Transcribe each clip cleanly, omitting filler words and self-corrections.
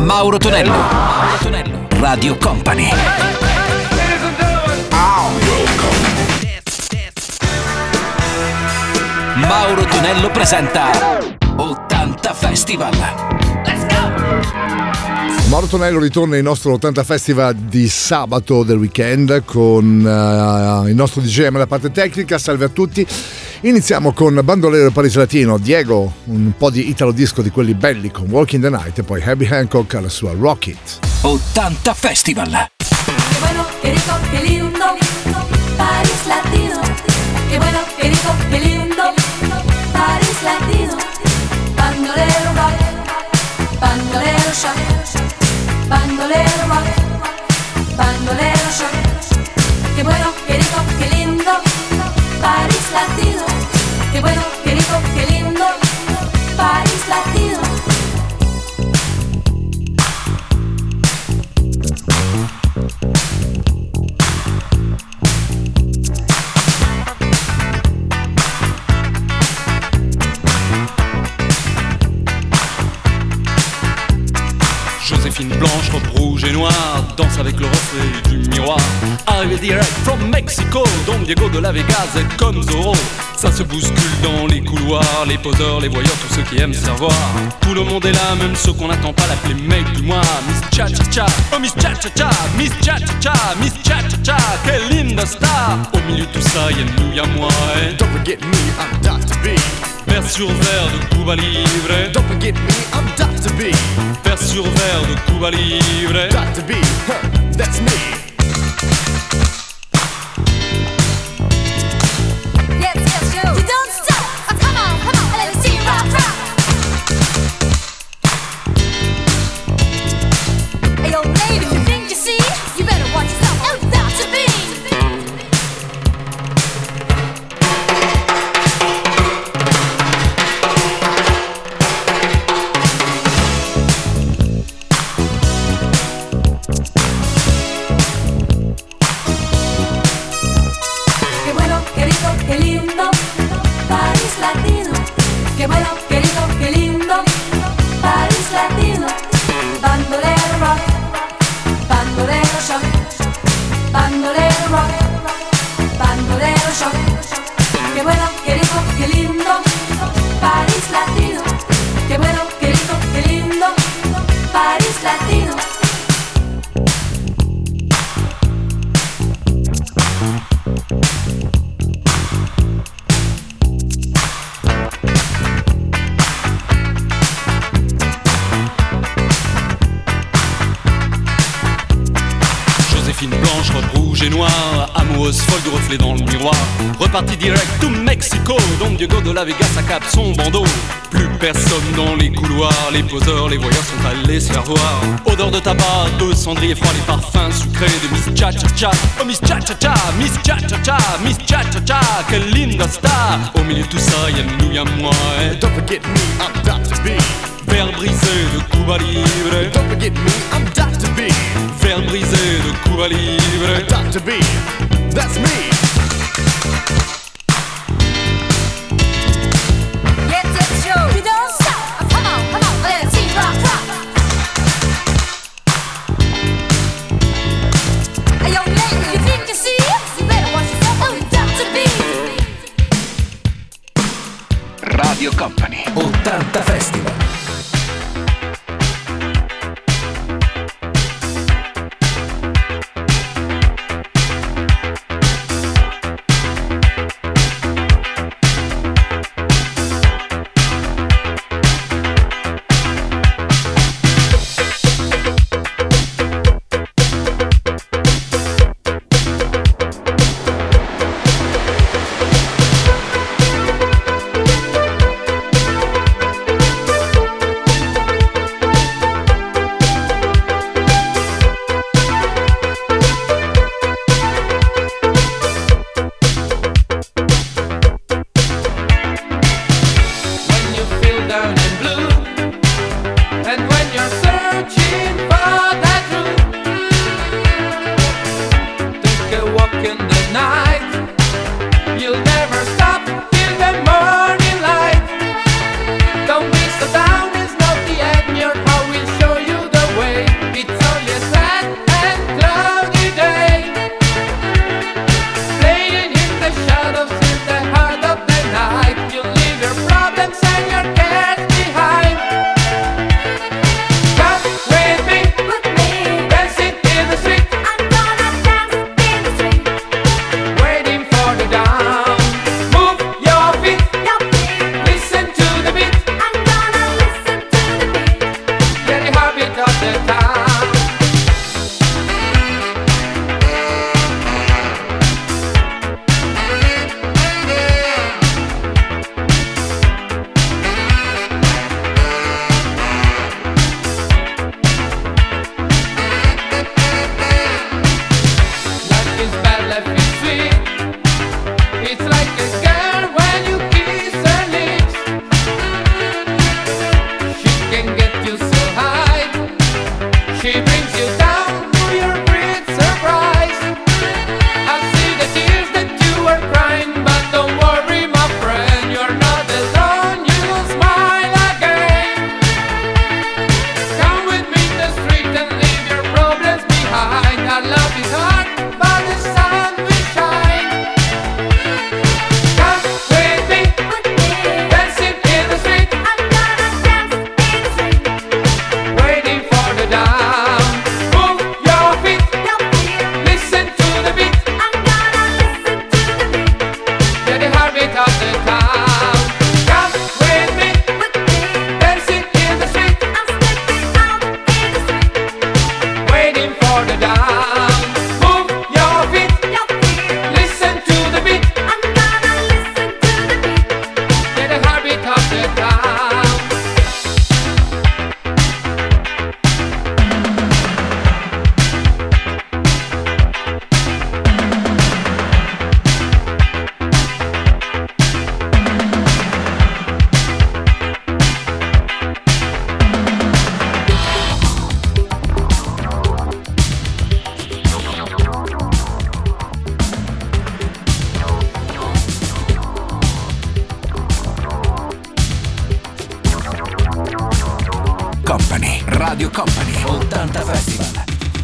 Mauro Tonello. Mauro Tonello. Radio Company. Mauro Tonello presenta 80 Festival. Let's go! Mauro Tonello ritorna in nostro 80 Festival di sabato del weekend con il nostro DJ alla parte tecnica. Salve a tutti. Iniziamo con Bandolero e Paris Latino, Diego, un po' di italo disco di quelli belli con Walking the Night, e poi Herbie Hancock alla sua Rock It. 80 Festival. Qué bueno, qué rico, qué lindo, Paris Latino. Qué bueno, qué rico, qué lindo, Paris Latino. Bandolero rock, bandolero shock, bandolero rock, bandolero shock. Qué bueno, qué rico, qué lindo, Paris Latino. Qué bueno, qué rico, qué lindo, Paris Latino. Joséphine Blanche, robe rouge et noire, danse avec le reflet du miroir. Arrivé direct from Mexico, Don Diego de la Vegas est comme Zorro. Ça se bouscule dans les couloirs, les poseurs, les voyeurs, tous ceux qui aiment se revoir. Tout le monde est là, même ceux qu'on n'attend pas, l'appeler mec du mois. Miss Cha-Cha-Cha, oh Miss Cha-Cha-Cha, Miss Cha-Cha-Cha, Miss Cha-Cha-Cha, quelle linda star. Au milieu de tout ça, y'a nous, y'a moi, eh. Don't forget me, I'm Dr. B. Vers sur verre de Cuba Libre. Don't forget me, I'm Dr. B. Vers sur verre de Cuba Libre. Dr. B, that's me. Yes, yes, yo. You don't stop. Oh, come on, let me see you rock, rock. Hey, yo, lady, you think you see? You better watch yourself. Oh, Dr. B. Qué bueno, qué rico, qué lindo, Paris Latino. Qué bueno, qué rico, qué lindo, Paris Latino. Bandolero rock, bandolero shock, bandolero rock, bandolero shock. Qué bueno, qué rico, qué lindo, Paris Latino. Qué bueno, qué rico, qué lindo, Paris Latino. Joséphine Blanche, robe rouge et noire, amoureuse folle du reflet dans le miroir. Reparti direct to Mexico, Don Diego de la Vegas accap son bandeau. Plus personne dans les couloirs, les poseurs, les voyeurs sont allés se faire voir. Odeur de tabac, de cendrier froid, les parfums sucrés de Miss Cha-Cha-Cha. Oh Miss Cha-Cha-Cha, Miss Cha-Cha-Cha, Miss Cha-Cha-Cha, quelle linda star. Au milieu de tout ça, y'a nous, y'a moi, eh. Don't forget me, I'm Dr. B. Verre brisé de Cuba Libre. Don't forget me, I'm Dr. B. Verre brisé de Cuba Libre. Dr. B, that's me. Yes, yes, yo. You don't stop. Oh, come on, let me see you rock, rock. Hey, yo, lady, you think you see? You better watch yourself. Oh, Dr. B. Radio Company. 80 Festival. the town. Radio Company 80 Festival.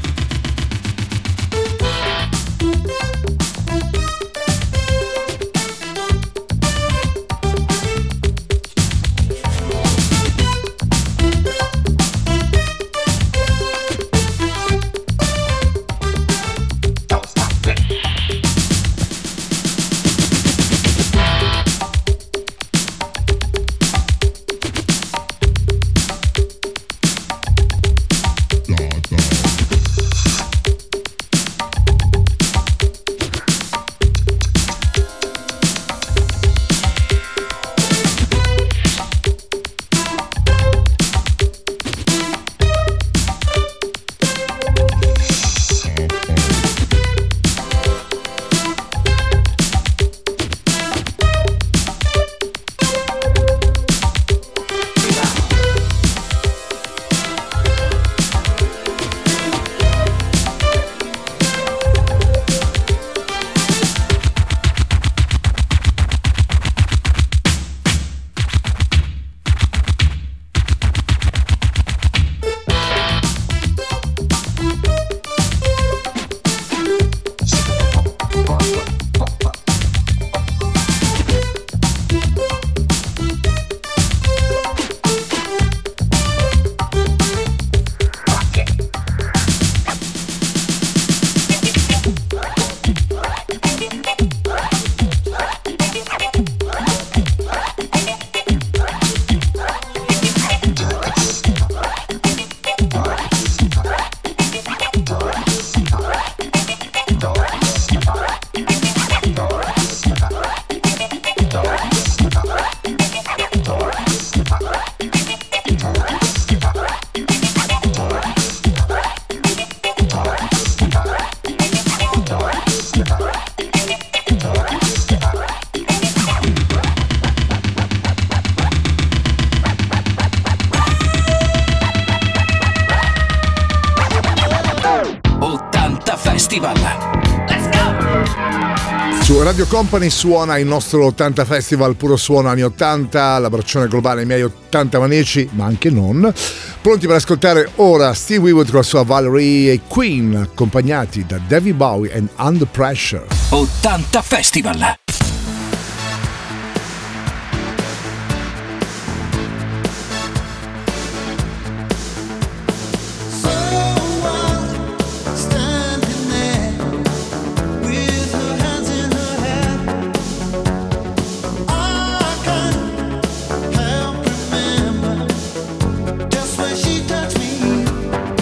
Su Radio Company suona il nostro 80 Festival, puro suono anni 80, l'abbraccione globale ai miei 80 maniaci, ma anche non. Pronti per ascoltare ora Steve Winwood con la sua Valerie e Queen, accompagnati da David Bowie and Under Pressure. 80 Festival. Just when she touched me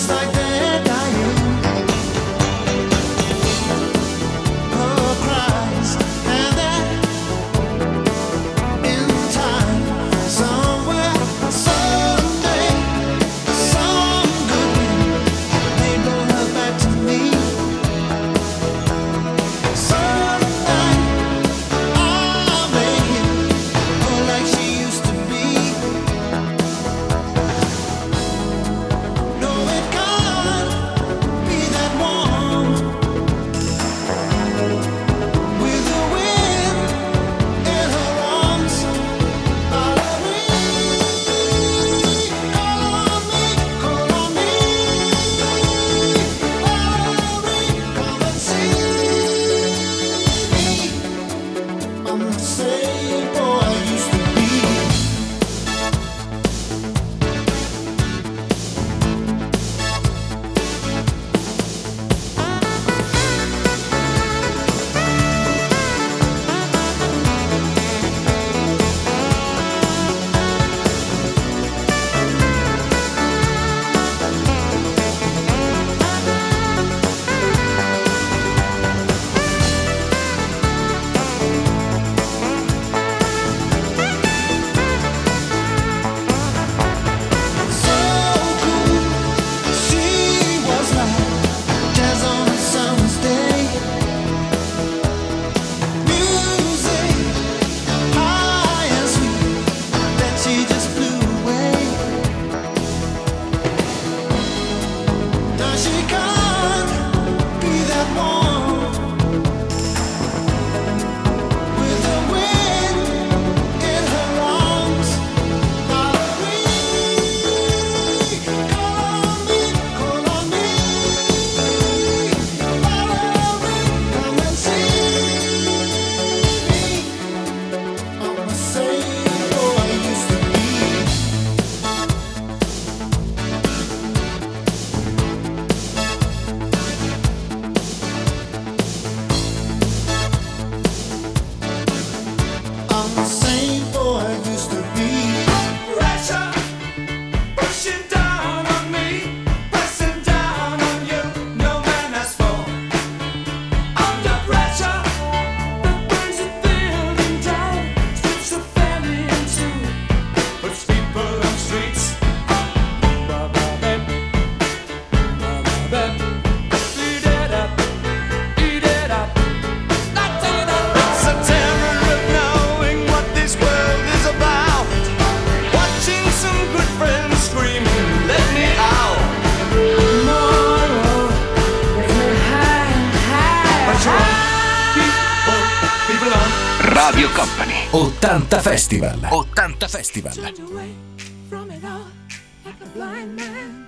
Radio Company 80 Festival. 80 Festival. Turned away from it all like a blind man.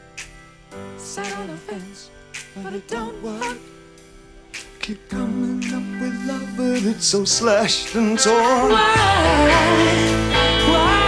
Sat on the fence, but it don't work. Keep coming up with love, but it's so slashed and torn. Why?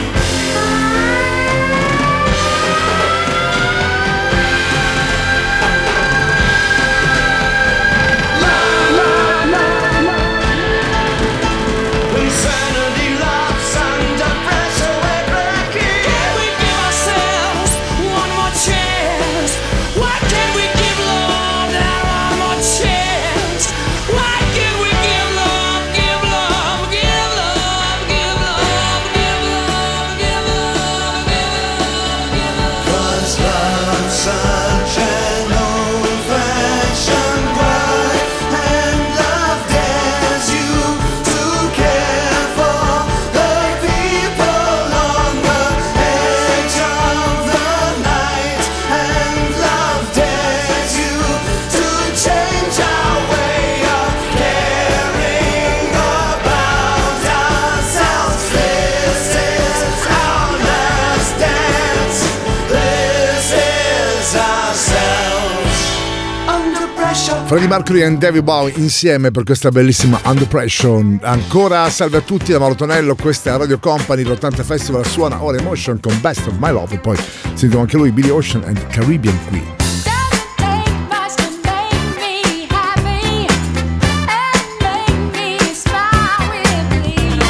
Insanity loves under pressure, we're breaking. Can we give ourselves one more chance? Why can't we give love that one more chance? Why can't we give love, give love, give love, give love, give love, give love, give love, give love? 'Cause love's such an old-fashioned word, and love dares you to care for the people on the edge of the night, and love dares you to change our way of caring about ourselves. This is our last dance. This is ourselves. Under pressure. Freddie Mercury e David Bowie insieme per questa bellissima Under Pressure. Ancora salve a tutti da Mauro Tonello, questa è Radio Company, l'80 Festival suona ora Emotion con Best of My Love, e poi sentiamo anche lui, Billy Ocean and Caribbean Queen. Doesn't take much to make me happy and make me smile with glee.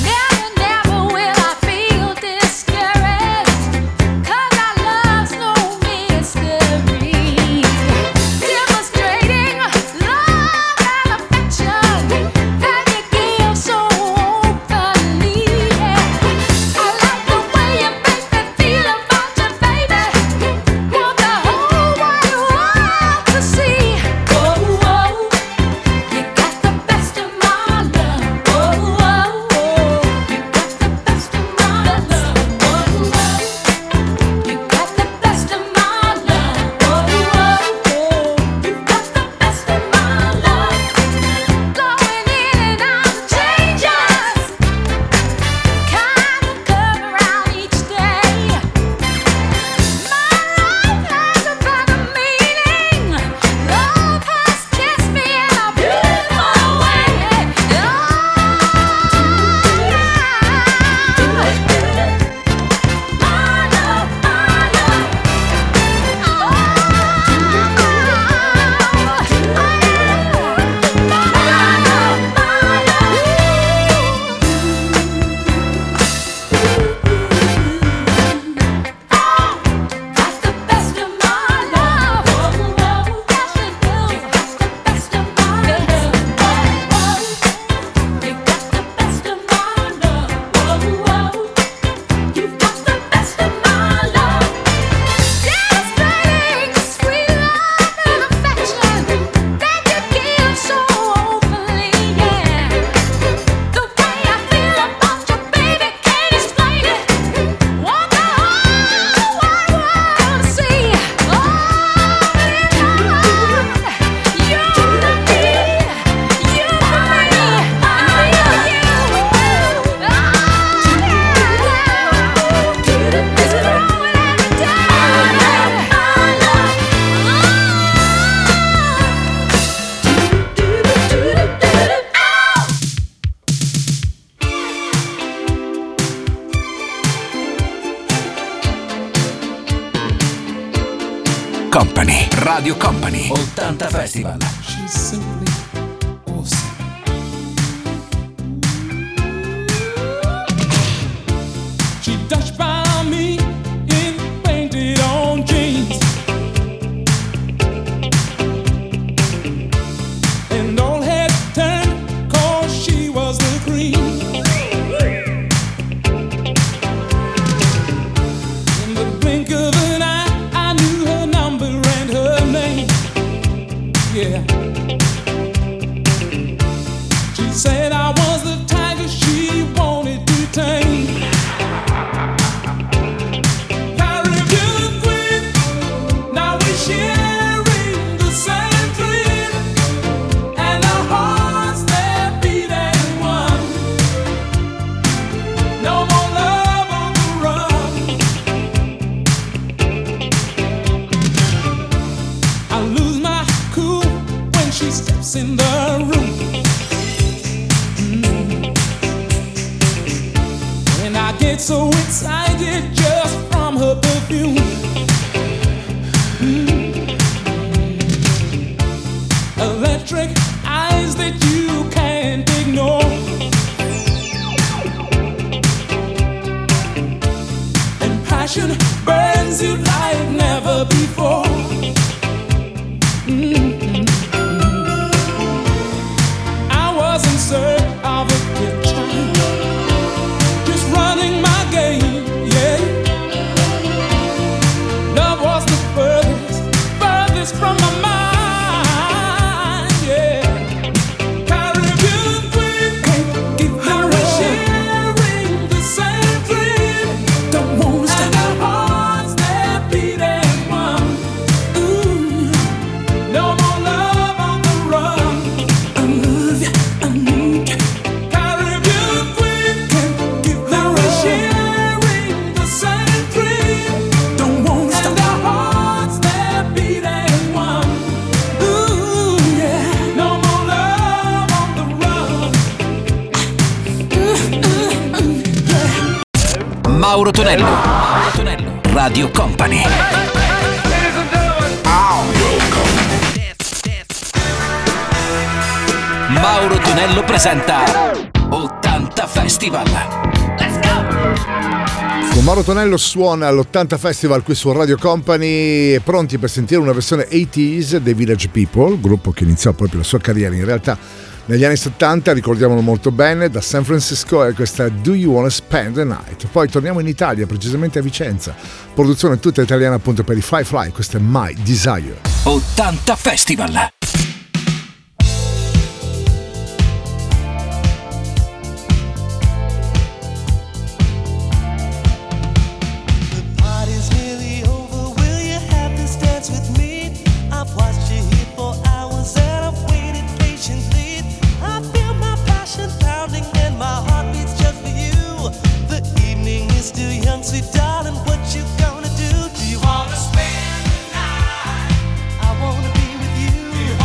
Never will I feel discouraged, 'cause our love's no Company. Radio Company 80 Festival. She's simply awesome. She dashed by me in painted on jeans, and all head turned 'cause she was the queen. In the blink of an eye, I knew her number and her name. Yeah. She said I was the tiger she wanted to tame. Caribbean queen, now we're sharing the same dream, and our hearts they're beating one. No more love on the run. I lose my cool when she steps in the room. And I get so excited just from her perfume. Electric eyes that you can't ignore, and passion burns you like never before. I was in search of a good time, just running my game, yeah. Love was the furthest from my mind, yeah. Caribbean queen, now we're sharing the same dream. Don't wanna stop. And our hearts they're beating one. Ooh, no more love on the run. I love you, I need you. Caribbean queen, now we're sharing the same dream. Don't wanna stop. And our hearts they're beating one. Ooh, yeah. No more love on the run. Mauro Tonello. Mauro Tonello. Radio Company. Mauro Tonello presenta 80 Festival. Con Mauro Tonello suona all'80 Festival qui su Radio Company, pronti per sentire una versione 80s dei Village People, gruppo che iniziò proprio la sua carriera in realtà negli anni 70, ricordiamolo molto bene, da San Francisco, e questa è Do You Wanna Spend the Night. Poi torniamo in Italia, precisamente a Vicenza, produzione tutta italiana appunto per i Firefly, questa è My Desire. 80 Festival. Party's nearly over, will you have this dance with me? I've watched you here for hours and I've waited patiently. I feel my passion pounding and my heart beats just for you. The evening is still young, sweet darling, what you gonna do? Do you wanna spend the night? I wanna be with you. Do you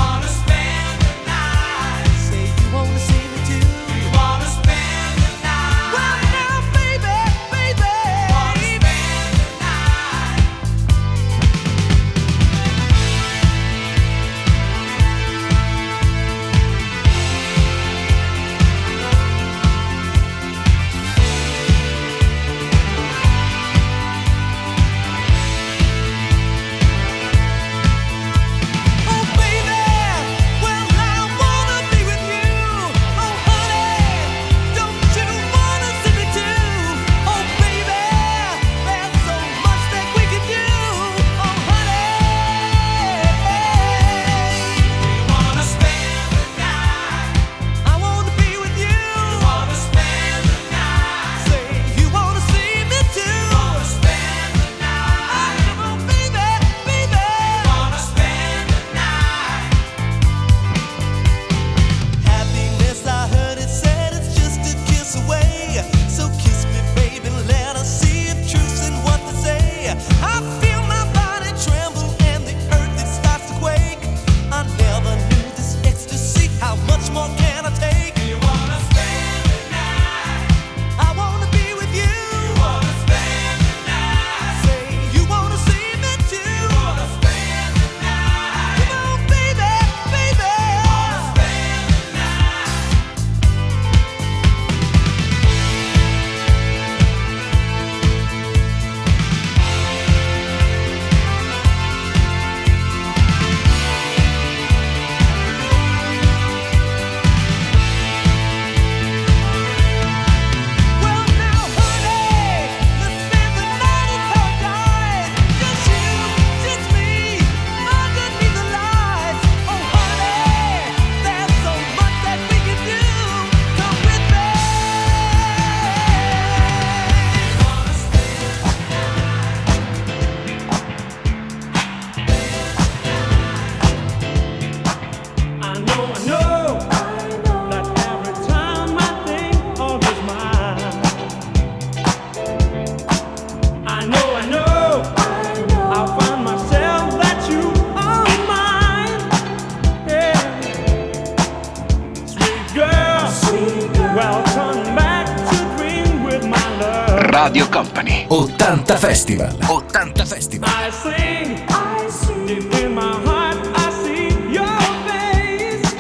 Radio Company. 80 Festival. 80 Festival. I see, deep in my heart, I see your face.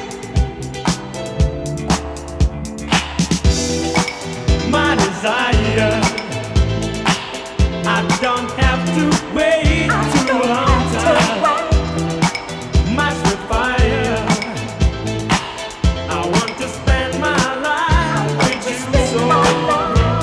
My desire, I don't have to wait too long time. My sweet fire, I want to spend my life with you so.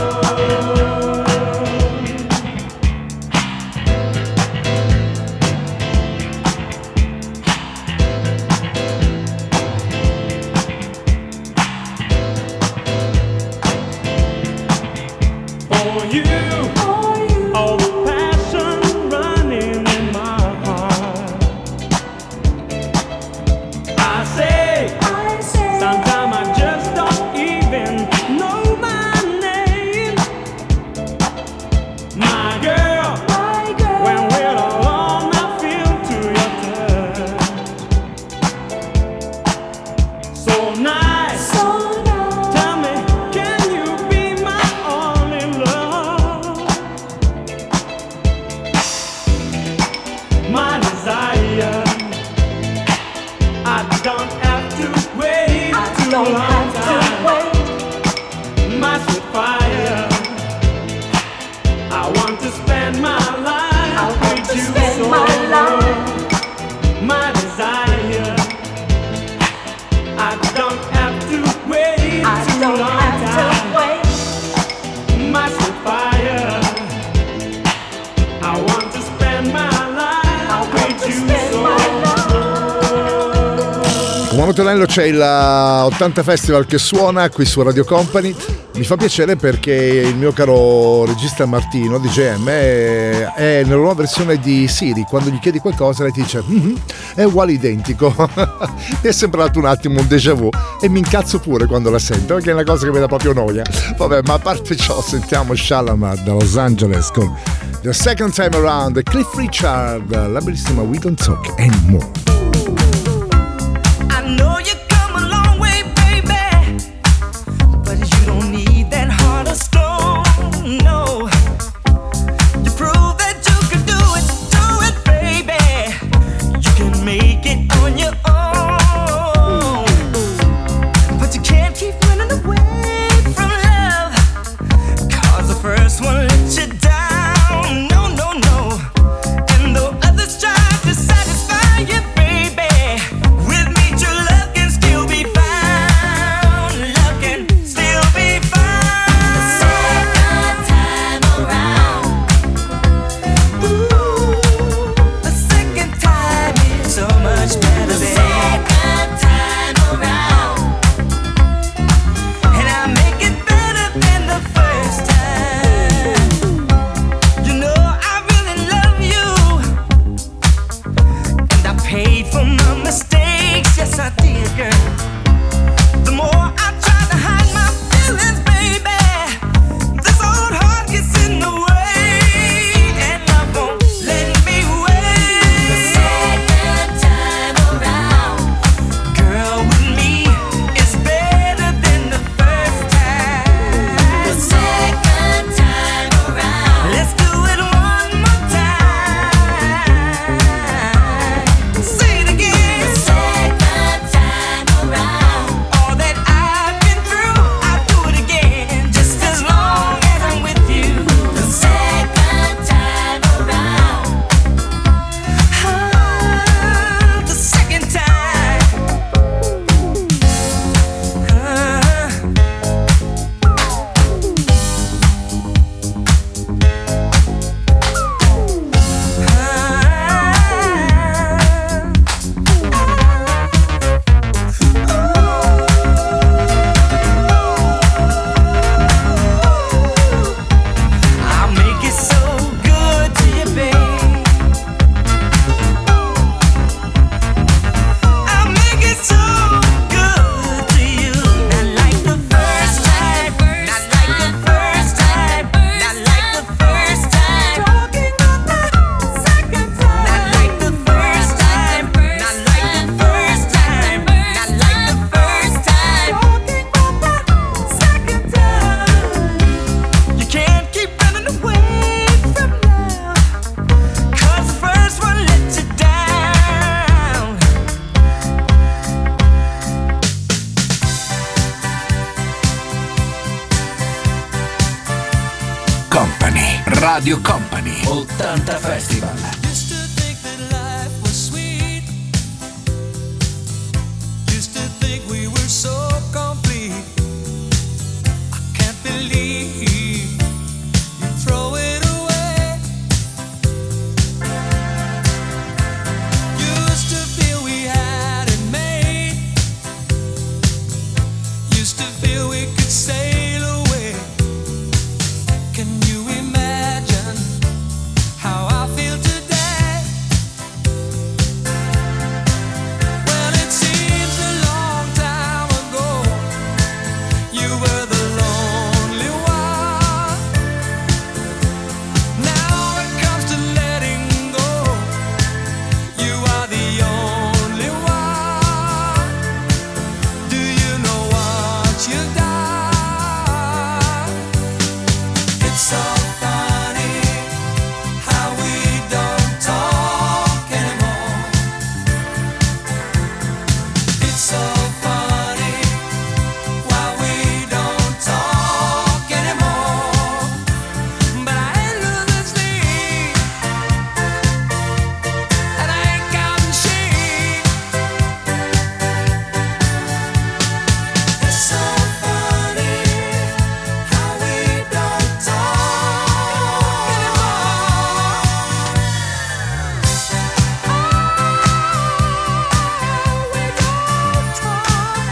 Tonello, c'è il 80 Festival che suona qui su Radio Company. Mi fa piacere perché il mio caro regista Martino di GM è nella nuova versione di Siri. Quando gli chiedi qualcosa lei ti dice è uguale, identico. Mi è sembrato un attimo un déjà vu e mi incazzo pure quando la sento, perché è una cosa che mi dà proprio noia. Vabbè, ma a parte ciò, sentiamo Shalamar da Los Angeles con The Second Time Around, Cliff Richard, la bellissima We Don't Talk Anymore. Know you come a long way, baby, but you don't need that heart of stone, no. You prove that you can do it, baby. You can make it on your own, but you can't keep running away from love, 'cause the first one let you down, no, no, no. And though others try to satisfy you, baby, Radio Company 80 Festival. Used to think that life was sweet. Used to think we were so complete. I can't believe you throw it away. Used to feel we had it made. Used to feel we could sail away. Can you imagine how I feel today? Well, it seems a long time ago you were the lonely one. Now it comes to letting go, you are the only one. Do you know what you've done? It's so funny how we don't talk anymore. It's so funny why we don't talk anymore. But I ain't losing sleep, and I ain't counting sheep. It's so funny how we don't talk anymore. We don't talk.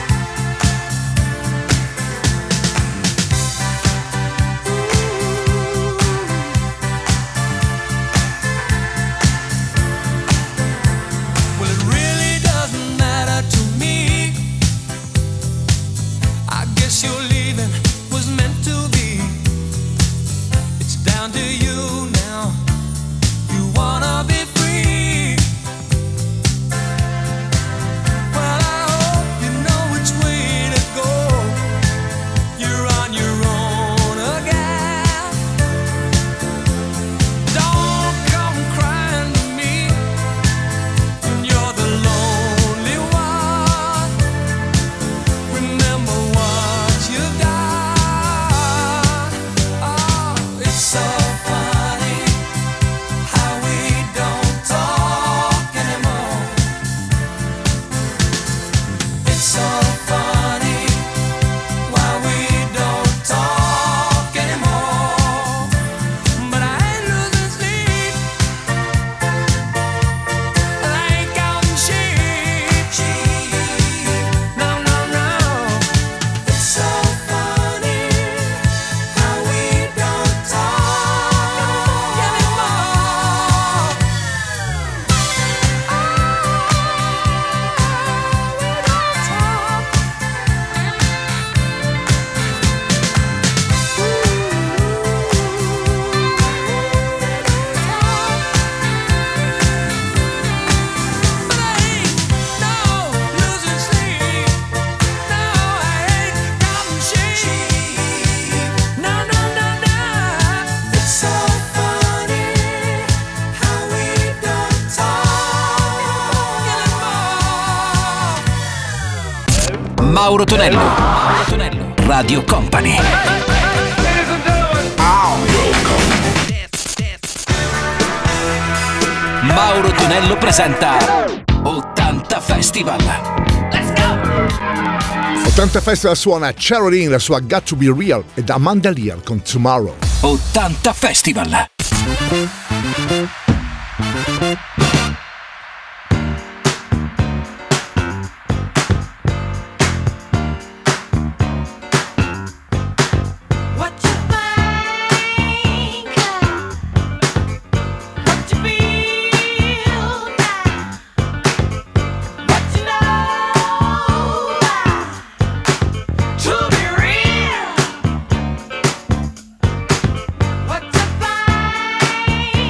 Well, it really doesn't matter to me. I guess your leaving was meant to be. It's down to you now. You wanna be free. Well, I hope you know which way to go. You're on your own again. Don't come crying to me when you're the lonely one. Remember what you've done. Oh, it's so funny how we don't talk anymore. It's so funny why we don't talk anymore. But I ain't losing sleep, and I ain't counting sheep. No, no, no. It's so funny how we don't talk anymore. But I ain't losing sleep. No, I ain't counting sheep. No, no, no, no. It's so funny how we don't talk anymore. Mauro Tonello. Mauro Tonello. Radio Company. Mauro Tonello presenta 80 Festival. 80 Festival suona Caroline, la sua Got to Be Real, ed Amanda Lear con Tomorrow. 80 Festival. What you think, what you feel now, what you know to be real. What you find.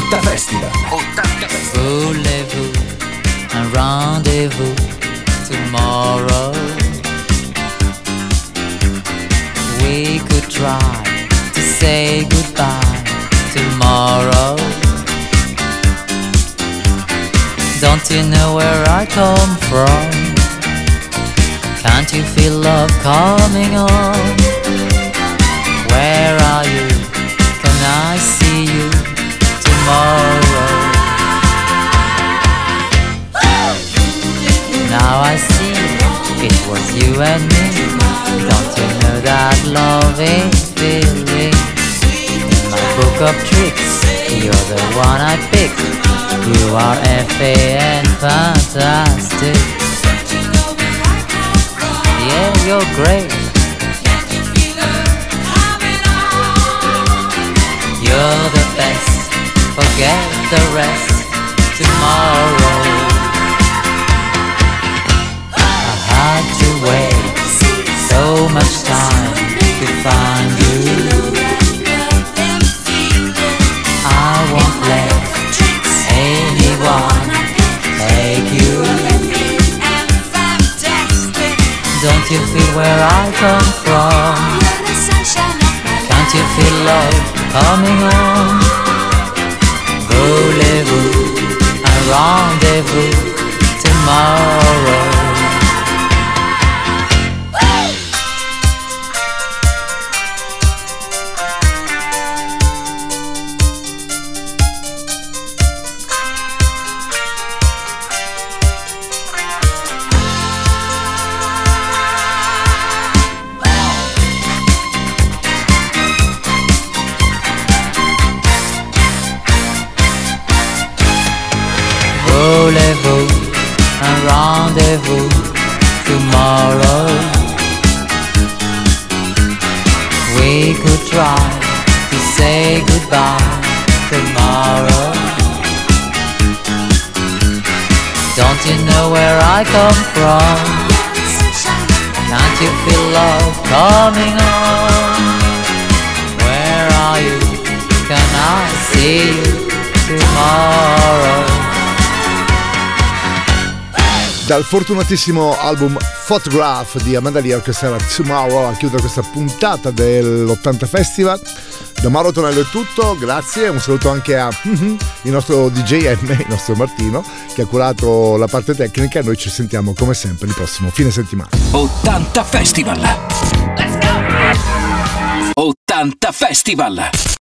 80 Festival. 80 Festival. Voulez-vous un rendez-vous tomorrow? We could try to say goodbye tomorrow. Don't you know where I come from? Can't you feel love coming on? Where are you? Can I see you tomorrow? Now I see it was you and me. Don't you know that love is feeling? In my book of tricks, you're the one I picked. You are F.A.N. fantastic. Yeah, you're great. You're the best. Forget the rest. Tomorrow I had to wait so much time to find you. I won't let anyone take you. Don't you feel where I come from? Can't you feel love coming on? Voulez-vous un rendez-vous tomorrow? Voulez-vous un rendez-vous tomorrow? We could try to say goodbye tomorrow. Don't you know where I come from? Can't you feel love coming on? Where are you? Can I see you tomorrow? Dal fortunatissimo album Photograph di Amanda Lear, questa era Tomorrow, a chiudere questa puntata dell'80 Festival. Da Mauro Tonello è tutto, grazie, un saluto anche a il nostro DJM, il nostro Martino, che ha curato la parte tecnica, e noi ci sentiamo come sempre il prossimo fine settimana. 80 Festival. Let's go! 80 Festival.